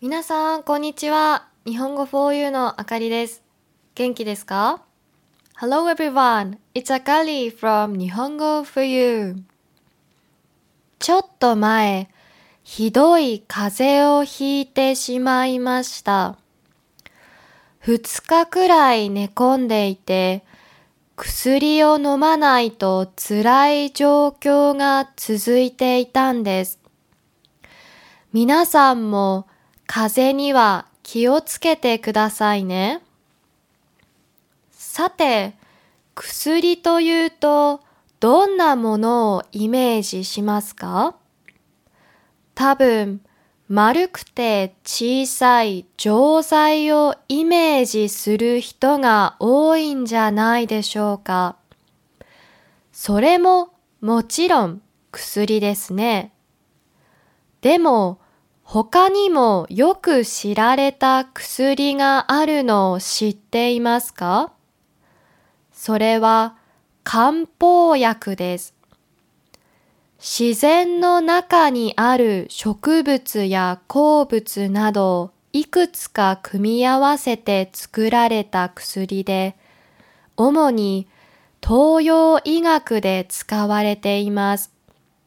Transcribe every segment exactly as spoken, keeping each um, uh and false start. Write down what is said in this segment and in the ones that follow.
皆さん、こんにちは。日本語 フォーユー のあかりです。元気ですか？ Hello everyone, it's Akari from 日本語 フォーユー。ちょっと前、ひどい風邪をひいてしまいました。二日くらい寝込んでいて、薬を飲まないと辛い状況が続いていたんです。皆さんも風邪には気をつけてくださいね。さて、薬というとどんなものをイメージしますか？多分、丸くて小さい錠剤をイメージする人が多いんじゃないでしょうか。それももちろん薬ですね。でも、他にもよく知られた薬があるのを知っていますか？それは漢方薬です。自然の中にある植物や鉱物などをいくつか組み合わせて作られた薬で、主に東洋医学で使われています。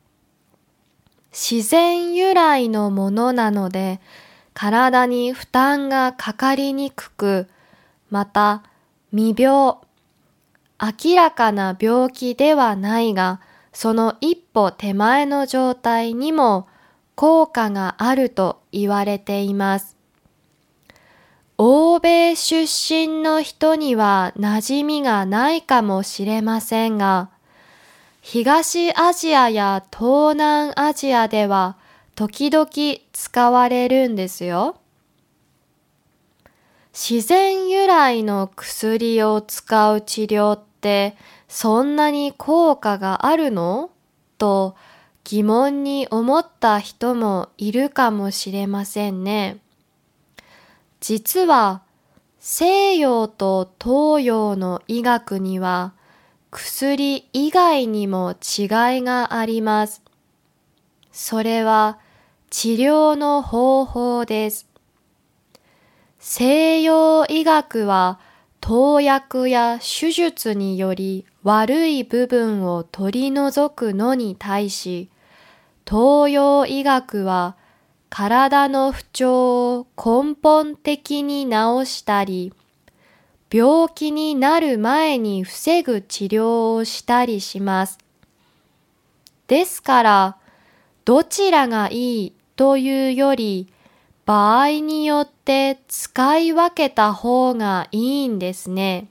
自然由来のものなので、体に負担がかかりにくく、また未病、明らかな病気ではないが、その一歩手前の状態にも効果があると言われています。欧米出身の人には馴染みがないかもしれませんが、東アジアや東南アジアでは時々使われるんですよ。自然由来の薬を使う治療ってそんなに効果があるの？と疑問に思った人もいるかもしれませんね。実は西洋と東洋の医学には薬以外にも違いがあります。それは治療の方法です。西洋医学は投薬や手術により悪い部分を取り除くのに対し、東洋医学は体の不調を根本的に治したり、病気になる前に防ぐ治療をしたりします。ですから、どちらがいいというより、場合によって使い分けた方がいいんですね。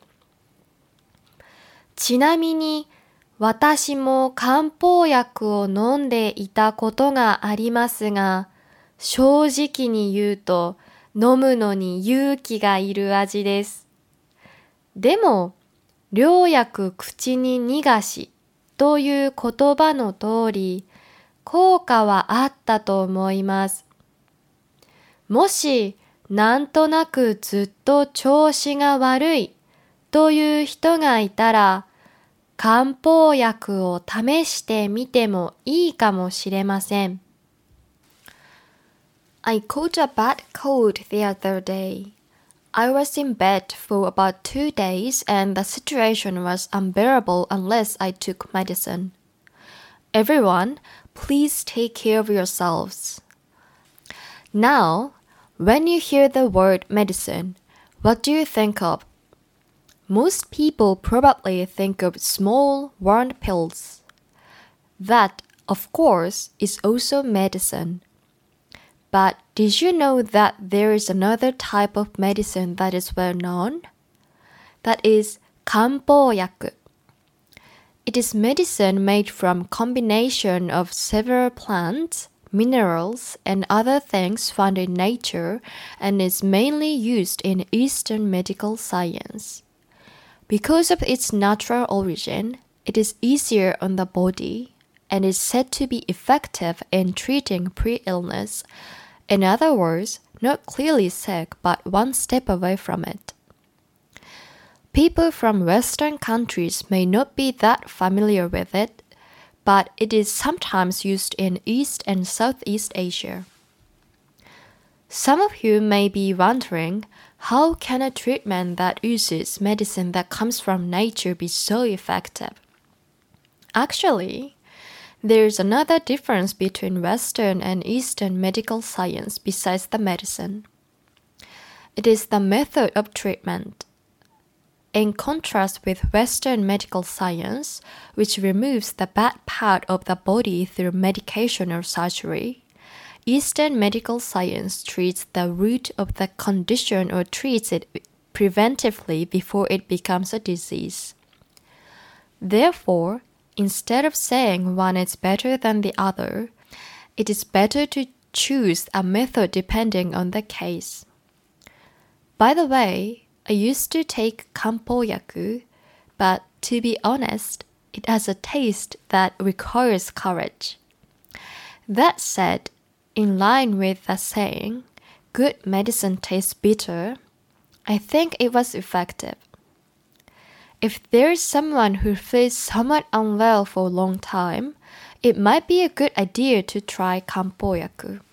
ちなみに、私も漢方薬を飲んでいたことがありますが、正直に言うと飲むのに勇気がいる味です。でも、良薬口に逃がしという言葉の通り、効果はあったと思います。もし、なんとなくずっと調子が悪いという人がいたら、漢方薬を試してみてもいいかもしれません。I caught a bad cold the other day.I was in bed for about two days and the situation was unbearable unless I took medicine. Everyone, please take care of yourselves. Now, when you hear the word medicine, what do you think of? Most people probably think of small, round pills. That, of course, is also medicine.But did you know that there is another type of medicine that is well known? That is 漢方薬. It is medicine made from combination of several plants, minerals, and other things found in nature and is mainly used in Eastern medical science. Because of its natural origin, it is easier on the body and is said to be effective in treating pre-illness.In other words, not clearly sick, but one step away from it. People from Western countries may not be that familiar with it, but it is sometimes used in East and Southeast Asia. Some of you may be wondering, how can a treatment that uses medicine that comes from nature be so effective? Actually, there's another difference between Western and Eastern medical science besides the medicine. It is the method of treatment. In contrast with Western medical science, which removes the bad part of the body through medication or surgery, Eastern medical science treats the root of the condition or treats it preventively before it becomes a disease. Therefore, instead of saying one is better than the other, it is better to choose a method depending on the case. By the way, I used to take Kampo-yaku, but to be honest, it has a taste that requires courage. That said, in line with the saying, good medicine tastes bitter, I think it was effective. If there is someone who feels somewhat unwell for a long time, it might be a good idea to try Kampo-yaku.